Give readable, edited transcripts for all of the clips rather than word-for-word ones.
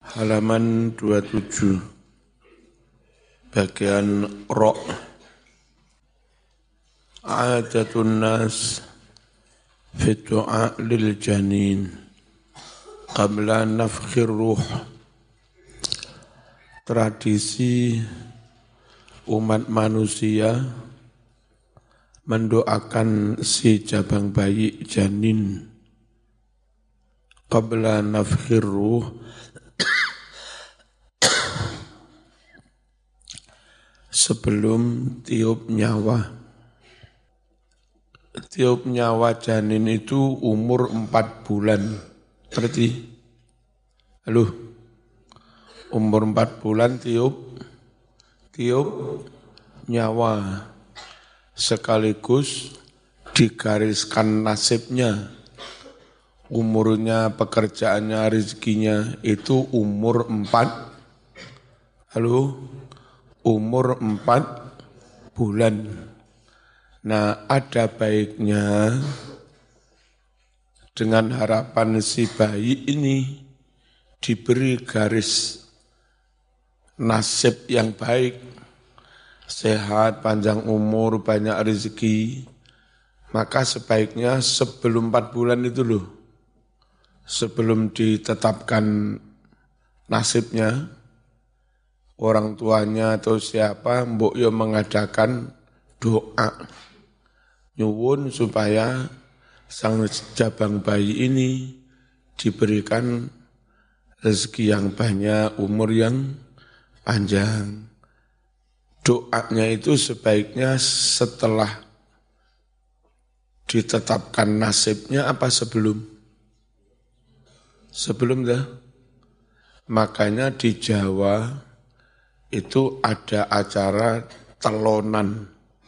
Halaman 27 bagian Ra. Adatun nas fi du'a lil janin qabla nafkhir ruh. Tradisi umat manusia mendoakan si jabang bayi janin qabla nafkhir ruh, sebelum tiup nyawa. Tiup nyawa janin itu umur 4 bulan. Berarti, halo, umur 4 bulan tiup nyawa. Sekaligus digariskan nasibnya. Umurnya, pekerjaannya, rezekinya itu umur 4, umur 4 bulan. Nah, ada baiknya dengan harapan si bayi ini diberi garis nasib yang baik, sehat, panjang umur, banyak rezeki, maka sebaiknya sebelum 4 bulan itu loh, sebelum ditetapkan nasibnya, orang tuanya atau siapa mbok yo mengadakan doa nyuwun supaya sang jabang bayi ini diberikan rezeki yang banyak, umur yang panjang. Doanya itu sebaiknya setelah ditetapkan nasibnya apa sebelum? Sebelum dah. Makanya di Jawa itu ada acara telonan.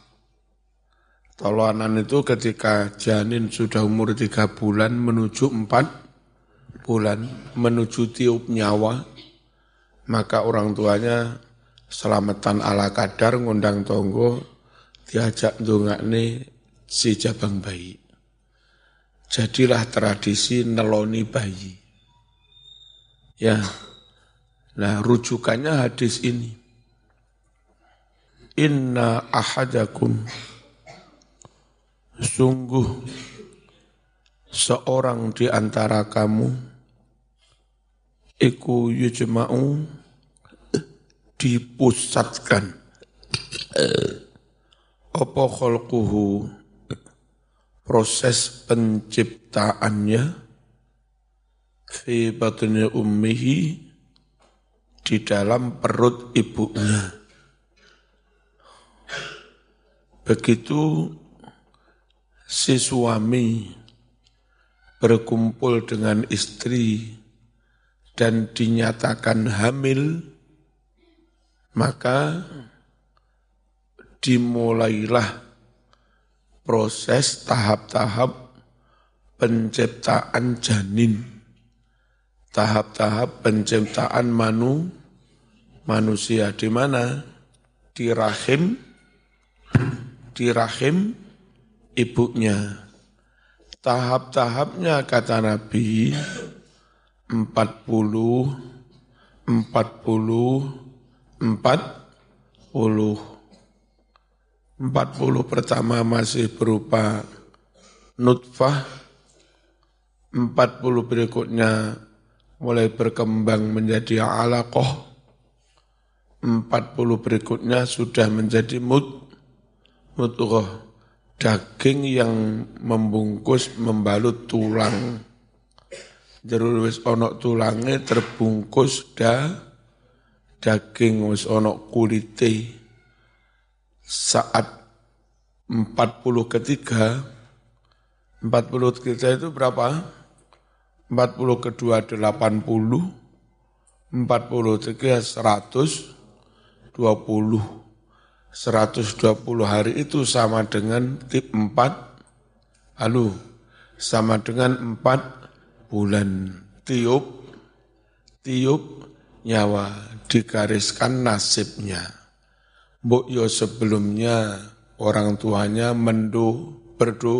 Telonan itu ketika janin sudah umur 3 bulan menuju 4 bulan, menuju tiup nyawa, maka orang tuanya selamatan ala kadar ngundang tonggo, diajak ndongakne si jabang bayi. Jadilah tradisi neloni bayi. Ya. Nah, rujukannya hadis ini. Inna ahadakum, sungguh seorang di antara kamu, iku yujma'u, dipusatkan, apa khalquhu, proses penciptaannya, fi batni ummihi, di dalam perut ibunya. Begitu si suami berkumpul dengan istri dan dinyatakan hamil, maka dimulailah proses tahap-tahap penciptaan janin, tahap-tahap penciptaan manusia. Di mana? Di rahim ibunya. Tahap-tahapnya kata Nabi 40 pertama masih berupa nutfah, 40 berikutnya mulai berkembang menjadi alaqah, 40 berikutnya sudah menjadi mudghah, daging yang membungkus membalut tulang. Jero wis ana tulange terbungkus daging, wis ana kulite. Saat 40 ketiga itu berapa? 40 kedua 80, 40 ketiga 120 hari itu sama dengan tip 4, sama dengan 4 bulan. Tiup nyawa, digariskan nasibnya. Mbok yo sebelumnya orang tuanya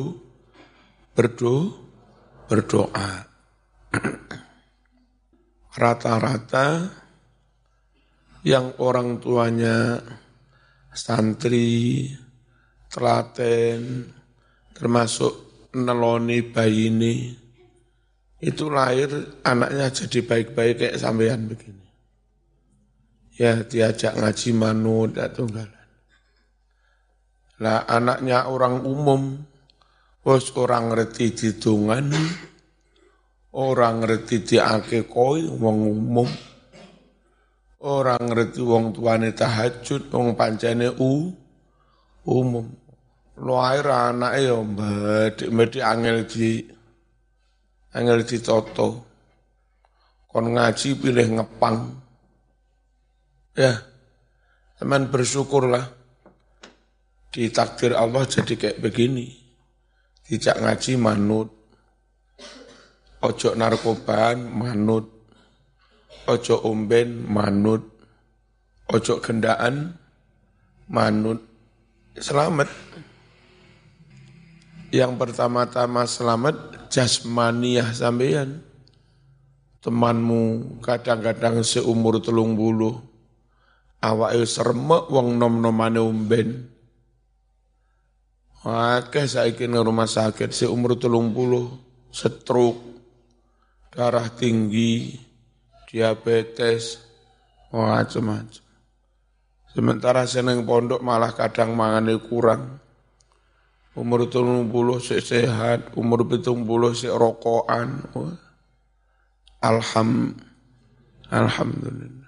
berdoa. rata-rata yang orang tuanya santri, telaten, termasuk neloni bayi ini, itu lahir anaknya jadi baik-baik kayak sampean begini. Ya diajak ngaji manut atau enggak. Lah anaknya orang umum, wis orang ngerti didongani, orang ngerti diakekoi wong umum, orang ngerti wong tuane tahajud, wong pancene umum. Lahir anake ya mbedhi angel ditoto. Kon ngaji pilih ngepang. Ya, teman bersyukurlah. Ditakdir Allah jadi kayak begini. Dijak ngaji manut. Ojo narkobaan manut. Ojo omben manut. Ojo gendaan manut. Selamat. Yang pertama-tama selamat jasmaniyah sampeyan. Temanmu kadang-kadang seumur 30. Awake seremek wong nom-nomane omben. Akeh saiki nang rumah sakit seumur 30, stroke, darah tinggi, diabetes, macam-macam. Sementara seneng pondok malah kadang mangane kurang. Umur 30 sik sehat, umur 70 sik rokokan. Alhamdulillah.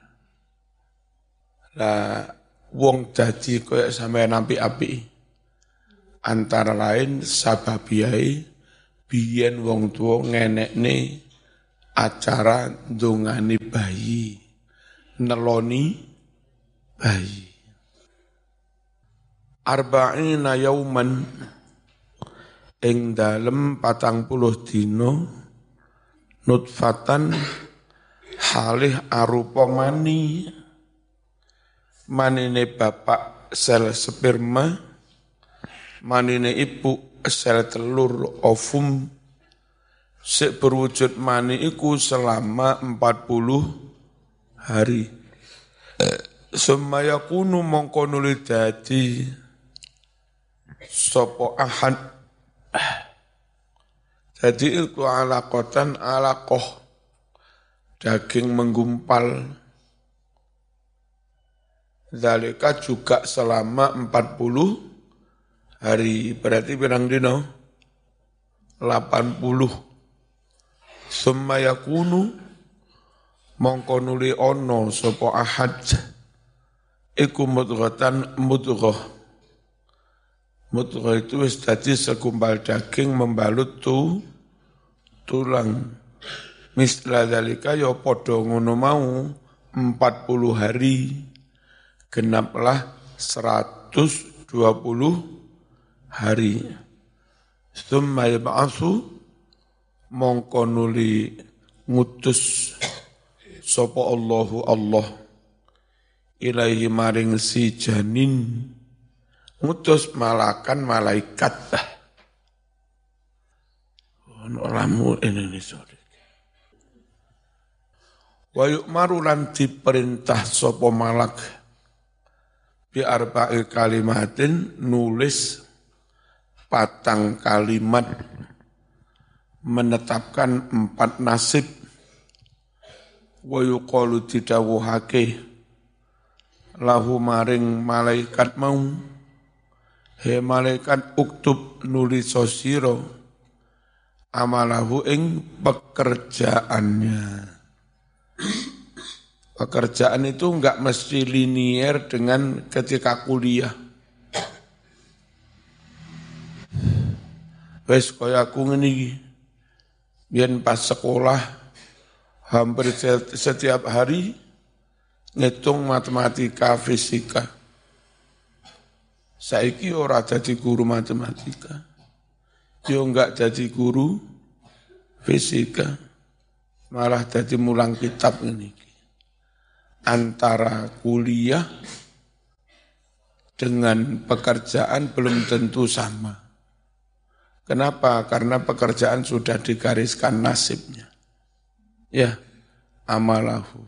Lah wong dadi koyo sampeyan apik-apik. Antara lain sababiyai biyen wong tua ngenekne acara ndongani bayi, neloni bayi. Arba'ina yauman ing dalem 40 dina nutfatan halih arupa manine bapak sel sperma, manine ibu sel telur ovum, sik berwujud mani iku selama 40 hari. Sumaya kunu mongko nuli dadi sapa ahad. Jadi iku alaqatan alaqah, daging menggumpal. Zalika juga selama 40 hari, berarti pirang dino? 80. Summa yakunu mongko nuli ono sapa ahad iku mudghatan mudghah. Mudghah itu wis dadi segumpal daging membalut tulang. Misla dalika ya padha ngono mau 40 hari genaplah 120 hari. Summa yab'atsu mongko nuli ngutus sapa Allahu Allah ilaihi maring si janin, ngutus malakan malaikat. Ono lamu Indonesia. Wa yu'maru lan diperintah sapa malak bi arba'i kalimatin nulis 4 kalimat, menetapkan 4 nasib. Wa yuqalu didhawuhake lahu maring malaikat mau, he malaikat uktub nulis sira amalahu ing pekerjaannya. Pekerjaan itu enggak mesti linier dengan ketika kuliah. Wes kaya aku ngene iki. Biyen pas sekolah hampir setiap hari ngitung matematika, fisika. Saiki ora dadi guru matematika. Yo enggak jadi guru fisika. Malah dadi mulang kitab ngene iki. Antara kuliah dengan pekerjaan belum tentu sama. Kenapa? Karena pekerjaan sudah digariskan nasibnya. Ya, amalahu.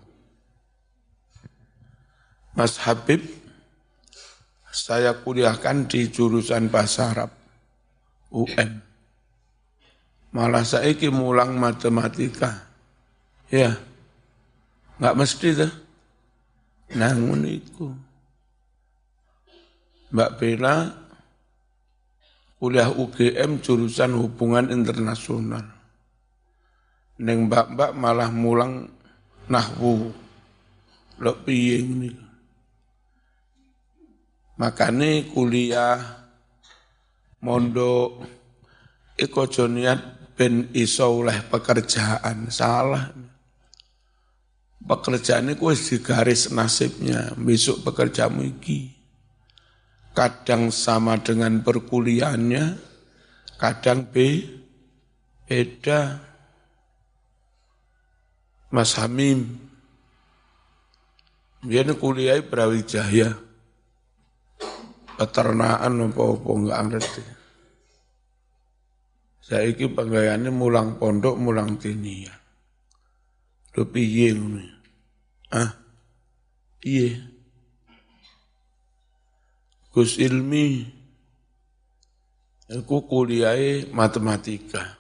Mas Habib, saya kuliahkan di jurusan Bahasa Arab, UM. Malah saiki mulang matematika. Ya, enggak mesti tuh. Nangun itu. Mbak Bella kuliah UGM jurusan hubungan internasional. Neng mbak-mbak malah mulang nahwu. Lok piye ngene. Makane kuliah mondok iku aja niat ben iso oleh pekerjaan, salah. Pekerjaan iku wis digaris nasibnya, besok pekerjaanmu iki. Kadang sama dengan perkuliahannya, kadang beda. Mas Hamim, dia kuliah Brawijaya. Peternakan apa-apa enggak ngerti. Saiki penggayaane mulang pondok, mulang tinian. Lho piye ngono? Piye? Gus Ilmi aku kuliahe matematika.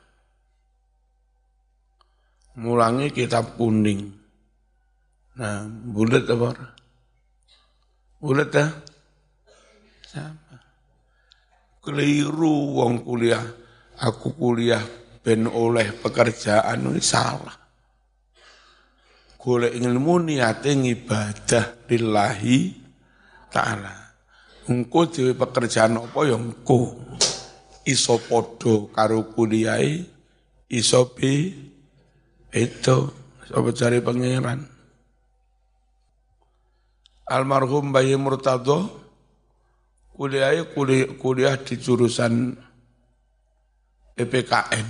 Mulangi kitab kuning. Nah, bulet apa ora? Bulet dah? Sama. Keliru wong kuliah. Aku kuliah ben oleh pekerjaan ini salah. Golek ilmu niate ngibadah lillahi ta'ala. Engko dhewe pekerjaan apa ya engko. Iso padha karo kuliahe, iso beda. Sapa cari pangeran. Almarhum Bayi Murtado kuliah di jurusan PPKN.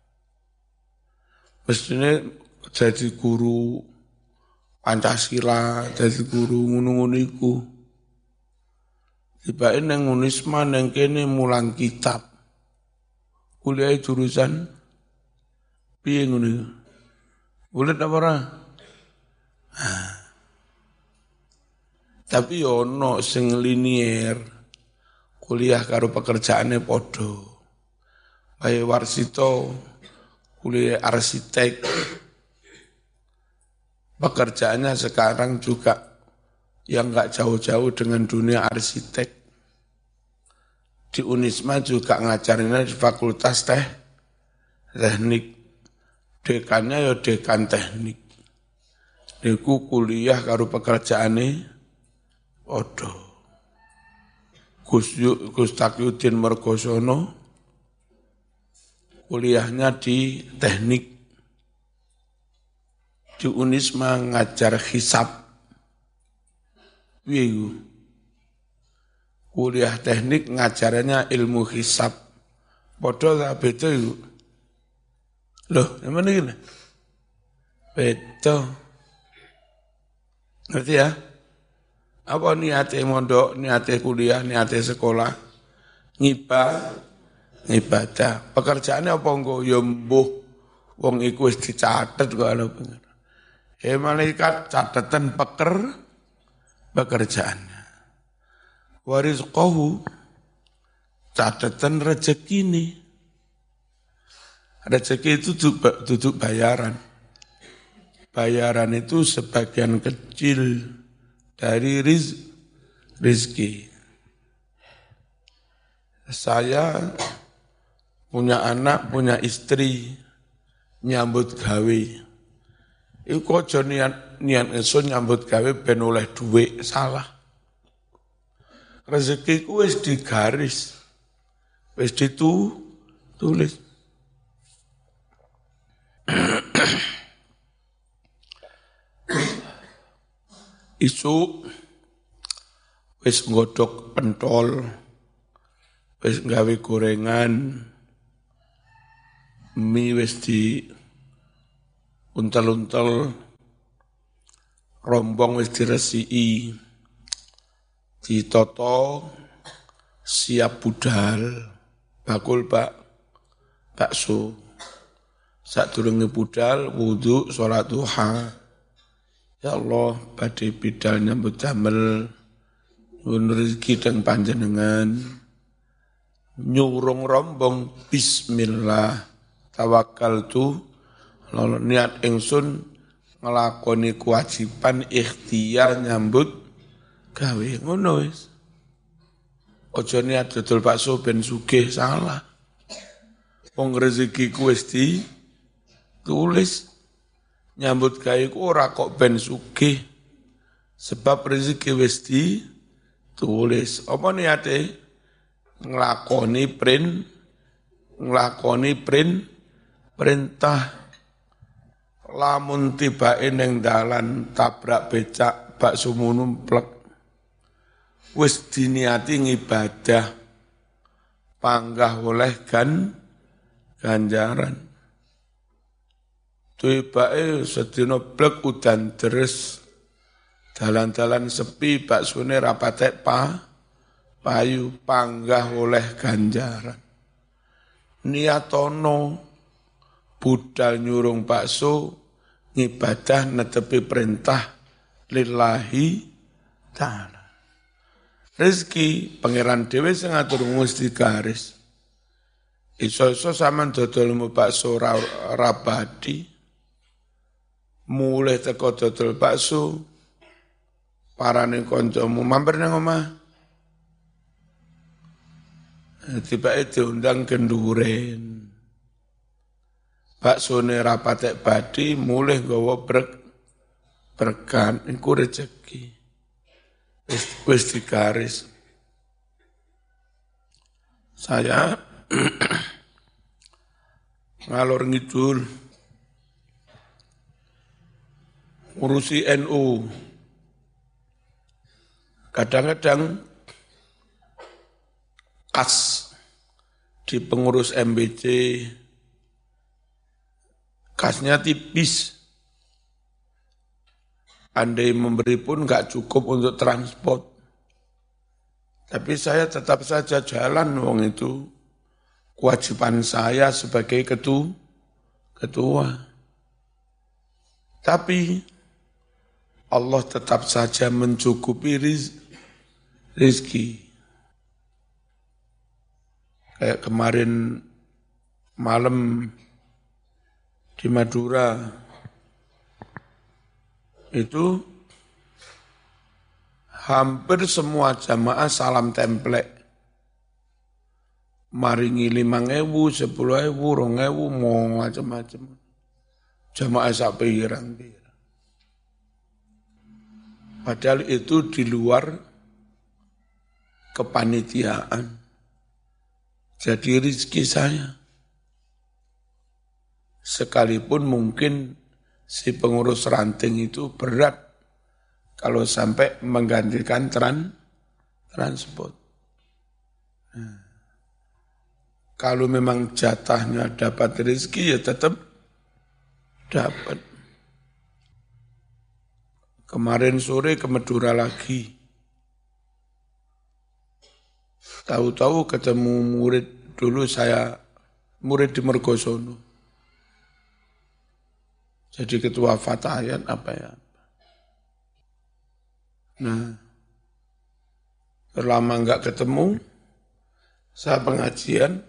Mestinya jadi guru Pancasila, jadi guru ngono-ngono iku. Tibae nang Unisma nang kene mulang kitab. Kuliah jurusan piye ngono. Bulet apa ora? Tapi ono sing linier kuliah karo pekerjaannya padha. Bae Warsito kuliah arsitek. Pekerjaannya sekarang juga yang enggak jauh-jauh dengan dunia arsitek. Di Unisma juga ngajarinnya di Fakultas Teknik. Dekannya ya dekan teknik. Niku kuliah karo pekerjaane padha. Gus Taqiyuddin Mergosono kuliahnya di teknik. Di Unisma ngajar hisab. Kuliah teknik ngajarannya ilmu hisab. Padha ta beda iku. Loh, yang mana gini? Beda. Ngerti ya? Apa niatnya mondok, niatnya kuliah, niatnya sekolah? Ngibadah. Pekerjaannya apa enggak? Ya mbuh. Wong iku wis dicatet kok ana pengen. Malaikat catatan pekerjaannya. Warizqahu catatan rezekine. Rezeki itu duduk bayaran. Bayaran itu sebagian kecil dari rizki. Saya punya anak, punya istri, nyambut gawe. Iku aja niat ingsun nyambut gawe ben oleh dhuwit, salah. Rezekiku wis digaris. Wis ditulis. Isu wis nggodhog pentol, wis gawe gorengan, mie wis di untel-untel, rombong wis diresiki, ditoto, siap budal, bakul bakso. Sadurunge budal, wudu, sholat duha, Ya Allah, badhe bidal nyambut damel nyuwun rezeki teng panjenengan. Nyurung rombong bismillah tawakkaltu lalu niat ingsun nglakoni kewajiban ikhtiar nyambut gawe ngono wis. Aja niat dodol bakso ben sugih salah. Wong rezekiku wis ditulis. Nyambut gawe ku ora kok ben sugih. Sebab rezeki wis ditulis. Apa niate? Nglakoni perintah. Lamun tibake ning dalan tabrak becak bakso numplek. Wis diniati ngibadah. Panggah oleh ganjaran. Tibake sedina blek udan deres. Dalan-dalan sepi baksone ra patek payu panggah oleh ganjaran. Niatono budal nyurung bakso ngibadah netepi perintah lillahi ta'ala. Rezeki pangeran dhewe sing ngatur mesti garis. Iso-iso sampean dodol bakso rabadi. Mulai teko dodol bakso parane kancamu mampir nang omah. Tiba-tiba diundang kenduren. Baksone rapatek badi mulih nggawa berkan iku rezeki. Wis digaris. Saya ngalor ngidul ngurusi NU. Kadang-kadang kas di pengurus MBC, kasnya tipis. Andai memberi pun nggak cukup untuk transport. Tapi saya tetap saja jalan, wong itu kewajiban saya sebagai ketua. Tapi Allah tetap saja mencukupi rizki. Kayak kemarin malam di Madura, itu hampir semua jamaah salam templek. Maringi 5.000, 10.000, 2.000, mau macam-macam. Jamaah sak pirang-pirang. Padahal itu di luar kepanitiaan. Jadi rezeki saya. Sekalipun mungkin si pengurus ranting itu berat kalau sampai menggantikan transport. Nah, kalau memang jatahnya dapat rezeki ya tetap dapat. Kemarin sore ke Madura lagi. Tahu-tahu ketemu murid dulu saya, murid di Mergosono. Jadi ketua Fatayat apa ya. Nah, lama enggak ketemu, saya pengajian,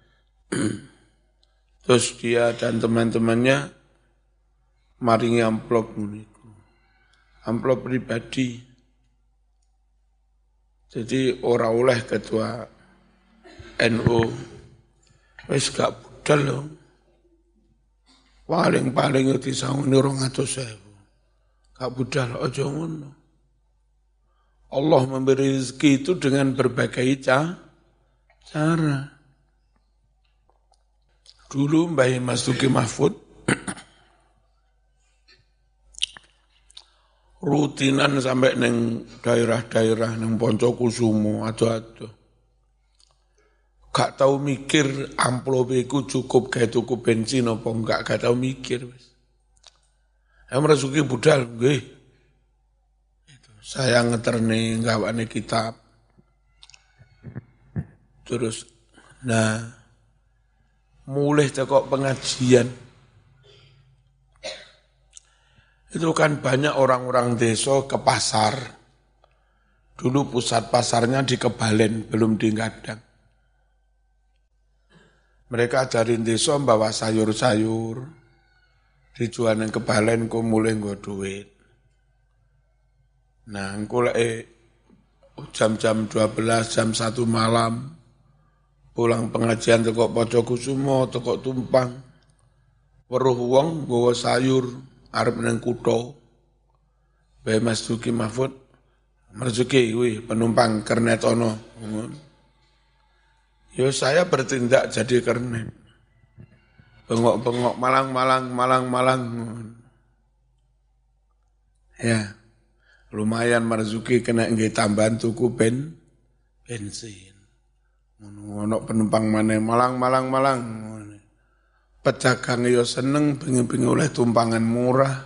terus dia dan teman-temannya maringi amplop amplop pribadi. Jadi ora oleh ketua NU, wis gak budal loh. Paling itu disangoni 200.000. Gak budal, aja ngono. Allah memberi rezeki itu dengan berbagai cara. Dulu Mbah Mas Duki Mahfud rutinan sampai neng daerah-daerah neng Poncokusumo ado-ado. Gak tahu mikir amplop iku cukup gawe tuku bensin apa enggak, gak tahu mikir wis. Merasuki budal nggih. Saya ngeterne gawane kitab. Terus mulai teko pengajian. Itu kan banyak orang-orang desa ke pasar. Dulu pusat pasarnya di Kebalen, belum di Gadang. Mereka ajarin desa bawa sayur-sayur, dijual yang Kebalen ku mulai nggo duit. Nah, engko lek jam-jam 12, jam 1 malam, pulang pengajian teko Pojokusumo, teko Tumpang, weruh wong nggawa sayur arep nang kutha. Bae Mas Duki Mahfud Marzuki, wih, penumpang kernet ono. Yo saya bertindak jadi kernet. Bengok-bengok, malang. Ya, lumayan Marzuki kena nggih tambahan tuku bensin. Ono penumpang mana malang. Pedagang yo seneng bengi-bengi oleh tumpangan murah.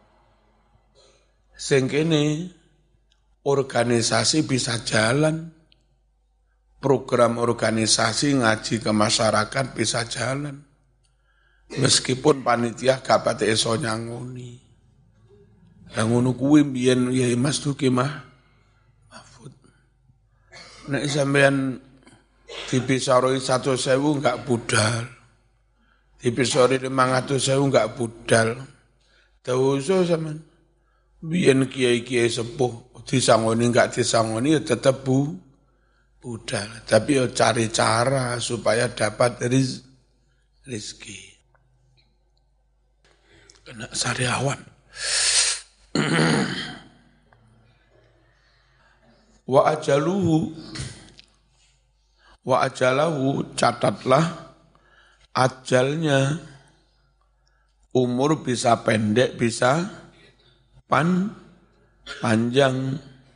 Sing kene organisasi bisa jalan, program organisasi ngaji ke masyarakat bisa jalan, meskipun panitia gak pati iso nyangoni. Lah ngono kuwi mbiyen ya Mas Duki Mahfud. Nek sampean dibisaroi 100.000 gak budal, dibisaroi 500.000 gak budal. Tauso sampean biyen kiai-kiai sepuh disangoni enggak disangoni ya tetap budal, tapi ya cari cara supaya dapat rezeki. Kena sariawan. Wa ajalahu catatlah ajalnya, umur bisa pendek bisa panjang,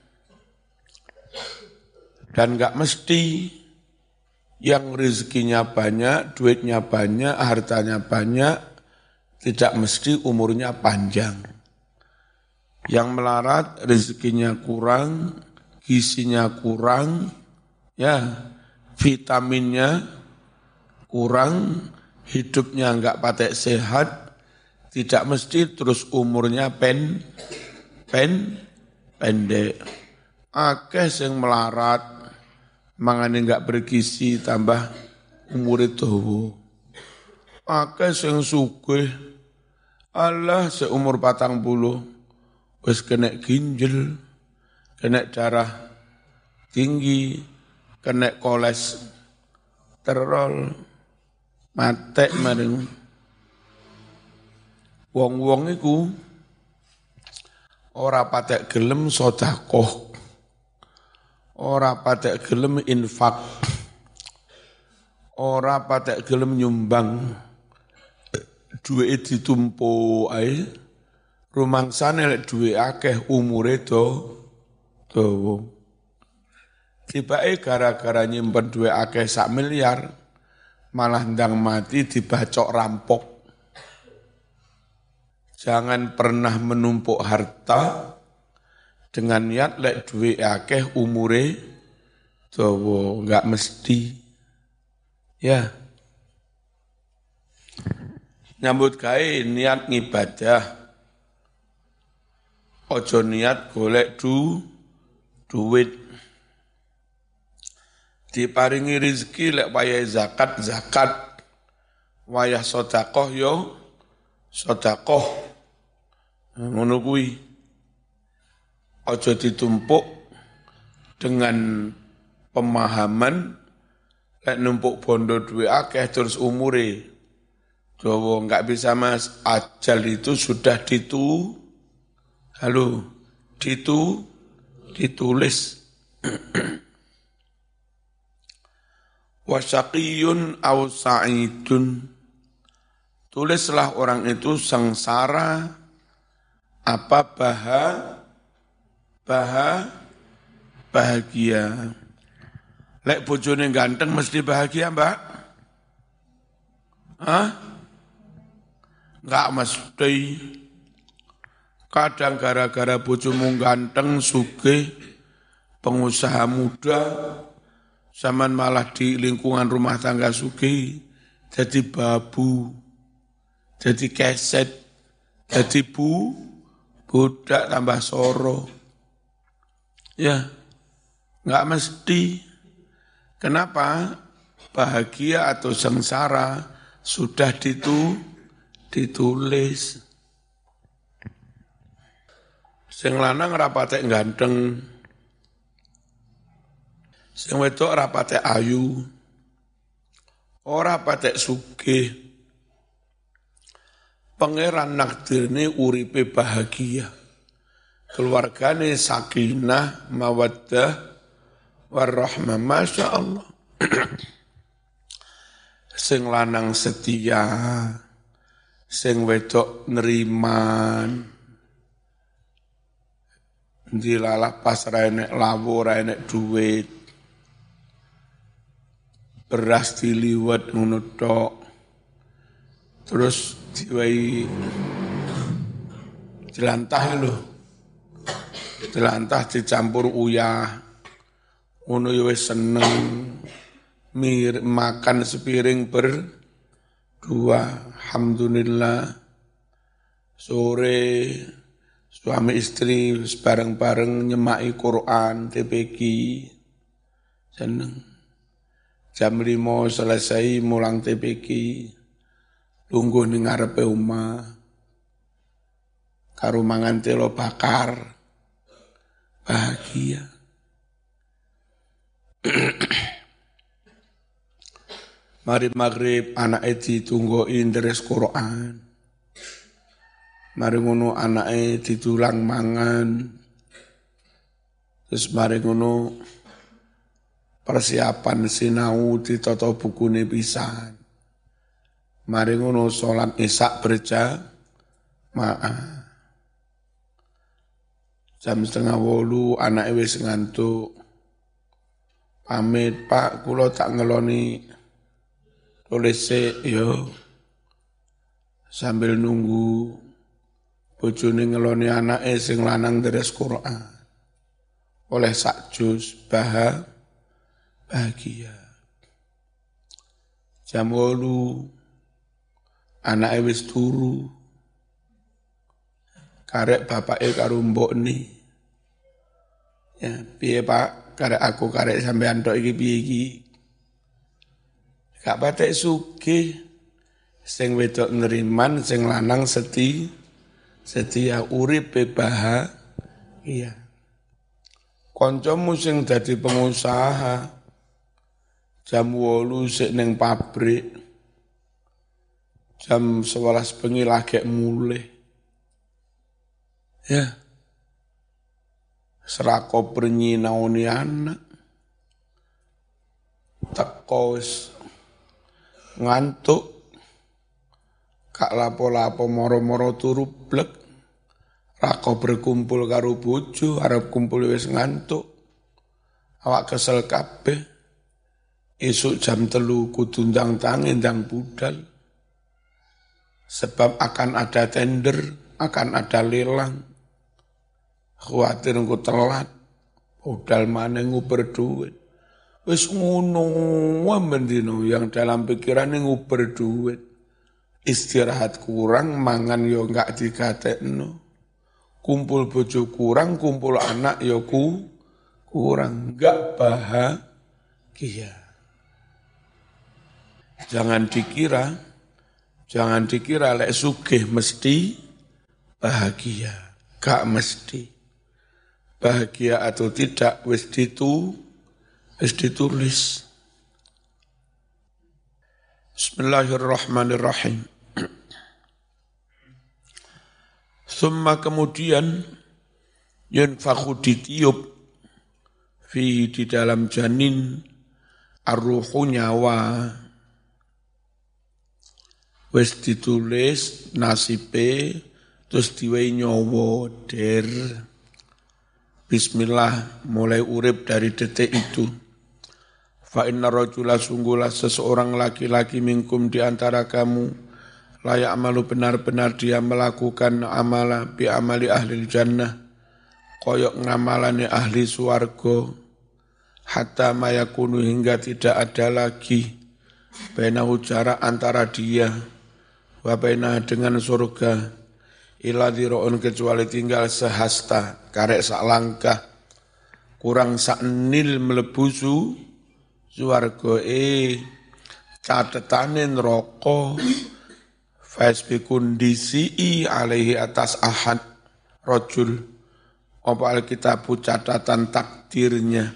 dan enggak mesti yang rezekinya banyak, duitnya banyak, hartanya banyak, tidak mesti umurnya panjang. Yang melarat rezekinya kurang, gizinya kurang, ya vitaminnya kurang, hidupnya enggak patek sehat, tidak mesti terus umurnya pendek. Akeh sing melarat, mangane enggak bergizi tambah umure dawa. Akeh sing sugih, Allah seumur 40 wis kena ginjal, kena darah tinggi, kena kolesterol, matek maring. Wong-wong iku ora patek gelem sedekah, ora patek gelem infak, ora patek gelem nyumbang, duwe ditumpuk ae, rumangsane lek duwe akeh umure dawa. Tibake gara-gara nyimpen duwe akeh 1 miliar, malah ndang mati dibacok rampok. Jangan pernah menumpuk harta dengan niat lek duwe akeh umure dawa, enggak mesti. Ya. Nyambut gawe niat ngibadah. Ojo niat golek duit. Diparingi rezeki lek wayah zakat, wayah sedekah yo sedekah. Ngono kuwi. Aja ditumpuk dengan pemahaman lek numpuk bondo duwe akeh terus umure dawa, enggak bisa Mas. Ajal itu sudah ditulis. Wasyaqiyun aw sa'idun. Tulislah orang itu sengsara apa bahagia. Lek bojone ganteng mesti bahagia, Mbak? Hah? Enggak mesti. Kadang gara-gara bojomu ganteng, sugih, pengusaha muda, zaman malah di lingkungan rumah tangga sugih, jadi babu, jadi keset, jadi budak tambah soro. Ya, enggak mesti. Kenapa? Bahagia atau sengsara sudah ditulis. Sing lanang ora patek ganteng. Sing wedok ora patek ayu. Ora patek sugih. Pangeran nakdirne uripe bahagia. Keluargane sakinah, mawaddah, warahmah, masya Allah. Sing lanang setia, sing wedok neriman. Dilalah pas ra enek lawu, ra enek duit. Beras diliwet ngono tok. Terus diwai jelantah lho. Jelantah dicampur uyah. Ngono ya wis seneng. Makan sepiring berdua. Alhamdulillah. Sore suami istri bareng-bareng nyemai Quran, TPQ. Seneng. Jam 5 selesai mulang TPQ. Lungguh ning ngarepe omah. Karo mangan telo bakar. Bahagia. Mari maghrib anake ditunggoki deres Quran. Mari ngono anake ditulang mangan. Terus mari ngono persiapan sinau ditata bukune pisan. Mari ngono salat Isya berjamaah. Jam 7:30 anake wis ngantuk. Pamit, Pak, kula tak ngeloni tulis yo. Sambil nunggu bojone ngeloni anake sing lanang deres Quran. Oleh sak juz bahagia. Jam 8 anake wis turu. Karek bapake karo mbokne. Ya, piye Pak? Karek aku karek sampean tok iki piye iki? Gak patek sugih. Sing wedok neriman, sing lanang setia uripe bahagia. Kancamu sing dadi pengusaha jam 8 sik ning pabrik. Jam 11 bengi lagi mulih. Ya. Serako bernyinauni anak. Teko wis ngantuk. Kak lapo-lapo moro-moro turu blek. Rako berkumpul karo bojo, arep kumpul wis ngantuk. Awak kesel kabeh. Esuk jam 3 kudu ndang tangi ndang budal. Sebab akan ada tender, akan ada lelang. Khawatir engko telat, budal maneh nguber duit. Wis ngono mendino yang dalam pikiran nguber duit. Istirahat kurang, mangan yo enggak digatekno. Kumpul bojo kurang, kumpul anak yo kurang, enggak bahagia. Jangan dikira lek sugih mesti bahagia. Gak mesti. Bahagia atau tidak wis ditulis. Bismillahirrahmanirrahim. Summa kemudian yunfakhu ditiup fi di dalam janin ar-ruhu nyawa. Wis ditulis nasibe terus diwehi nyawa der. Bismillah mulai urip dari detik itu. Fa inna rajula sungguhlah seseorang laki-laki minkum di antara kamu layak amalu benar-benar dia melakukan amala bi amali ahli jannah koyok ngamalane ahli suarga hatta mayakunu hingga tidak ada lagi bainahu jarak antara dia wa bainah dengan surga ila dhiraun kecuali tinggal sehasta, karek sak langkah, kurang sak nil mlebu swarga catetane neraka fasbikun disi alaihi atas ahad rajul apa alkitabu catatan takdirnya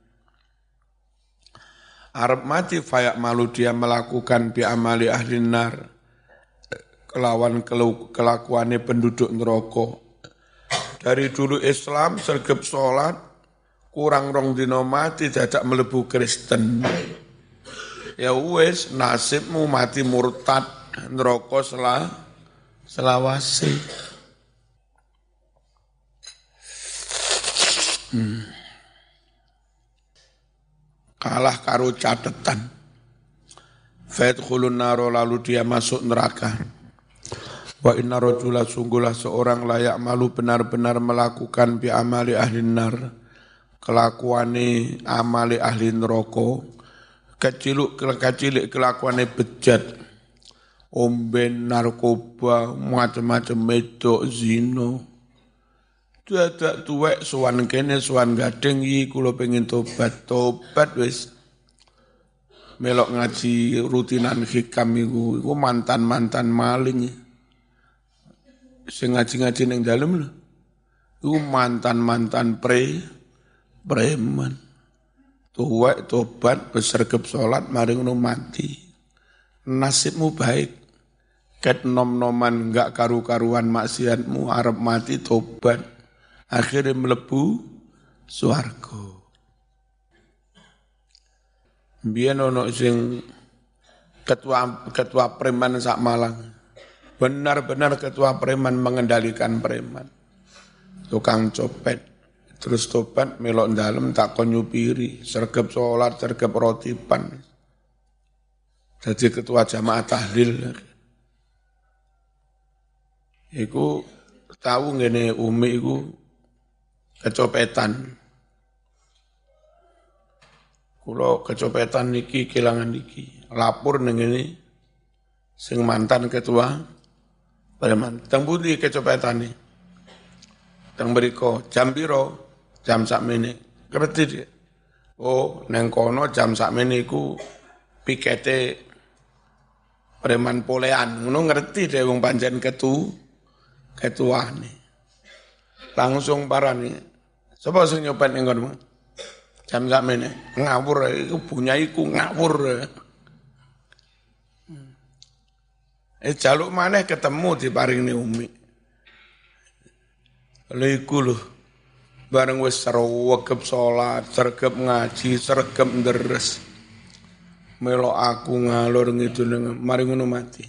arep mati fayak malu dia melakukan bi amali ahli nar kelawan kelakuannya penduduk neraka. Dari dulu Islam sergap sholat kurang rong dina mati dadak mlebu Kristen. Ya wis nasibmu mati murtad neraka selawase. Kalah karo catetan. Fadkhulun naro lalu dia masuk neraka. Wa inna rajula sungguhlah seorang layak malu benar-benar melakukan bi amali ahli nar kelakuane amali ahli neraka kecilik kelakuane bejat omben narkoba macam-macam medok zina dadak tuwek sowan kene sowan gading iki kula pengin tobat wis melok ngaji rutinan hikam iku mantan-mantan maling sing ngaji-ngaji ning dalem lho. Iku mantan-mantan preman. Tuwek tobat besergep salat mari ngono mati. Nasibmu baik. Ket nom-noman enggak karu-karuan maksiatmu arep mati tobat. Akhirnya mlebu swarga. Biyen ono sing ketua preman sak Malang. Benar-benar ketua preman mengendalikan preman. Tukang copet. Terus tobat melok dalem tak kon nyupiri. Sergep sholat, sergep rotipan. Jadi ketua jamaah tahlil. Iku tahu ngene Umi iku kecopetan. Kulo kecopetan niki kelangan niki. Lapor ning ngene sing mantan ketua preman, teng pundi kecopetane? Teng mriko jam piro? Jam sakmene. Ngerti dia? Oh, neng kono jam sakmene iku pikete preman polean. Ngono ngerti deh wong pancen ketuane. Langsung parani. Sapa sing nyopet ning kono? Jam sakmene. Ngawur iku bunyaiku ngawur. Jaluk maneh ketemu diparingi Umi. Lha iku lho. Bareng wis sregep salat, sregep ngaji, sregep ndres. Melok aku ngalor ngidul mari ngono mati.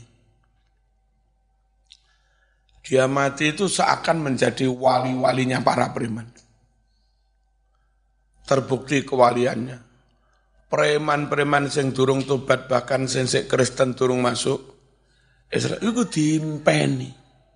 Dia mati itu seakan menjadi wali-walinya para preman. Terbukti kewaliannya. Preman-preman sing durung tobat bahkan sing Kristen durung masuk Israel itu diimpeni.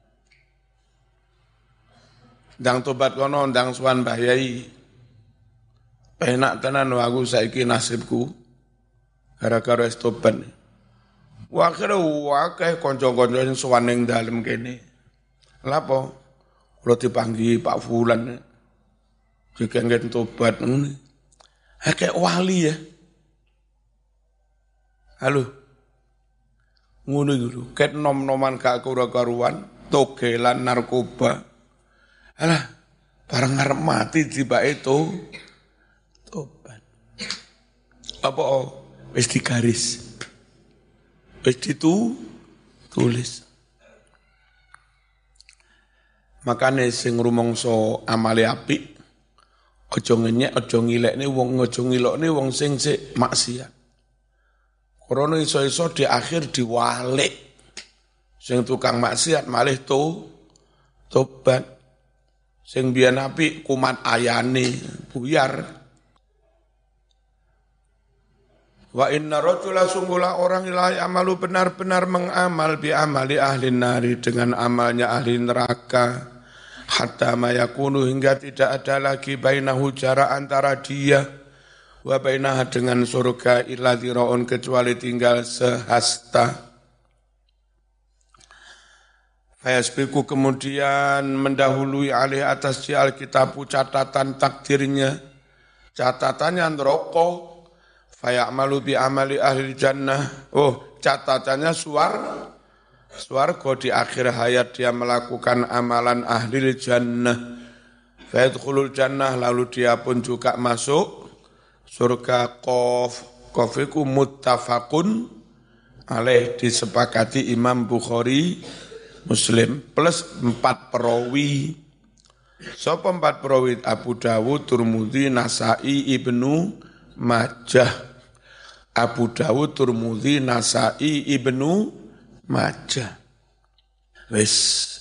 Ndang tobat kono, ndang suwan Mbah Yai. Penak tenan aku saiki nasibku. Gara-gara wis tobat. Akhire akeh kanca-kanca sing suwan ning dalem kene. Lha apa? Kula dipanggi Pak Fulan. Dikengken tobat ngene. Akeh wali ya. Halo. Ngono iku lho, ket nom-noman gak karu-karuan, togelan narkoba. Alah, bareng arep mati tibake tobat. Apa wis digaris. Wis ditulis. Makane sing rumangsa amale apik aja ngenyek, aja ngilekne wong, aja ngilokne wong sing sik maksiat. Krono iso-iso di akhir diwalik. Sing tukang maksiat malih tobat. Sing biyen apik kumat ayane buyar. Wa inna rajula sungguhlah orang la amalu benar-benar mengamal bi amali ahli nari dengan amalnya ahli neraka. Hatta ma yakunu hingga tidak ada lagi bainahu jarak antara dia wa bainaha dengan surga illa dhiraun kecuali tinggal sehasta. Fayasbiku kemudian mendahului alih atas di Alkitabu catatan takdirnya, catatannya neraka. Fayamalu bi amali ahli jannah. Oh, catatannya swarga di akhir hayat dia melakukan amalan ahli jannah. Fayadkhulul jannah lalu dia pun juga masuk surga. Qaf iku muttafaqun alaih disepakati Imam Bukhari Muslim plus 4 perawi. Sapa 4 perawi? Abu Dawud, Tirmidzi, Nasa'i, Ibnu Majah. Abu Dawud, Tirmidzi, Nasa'i, Ibnu Majah. Wis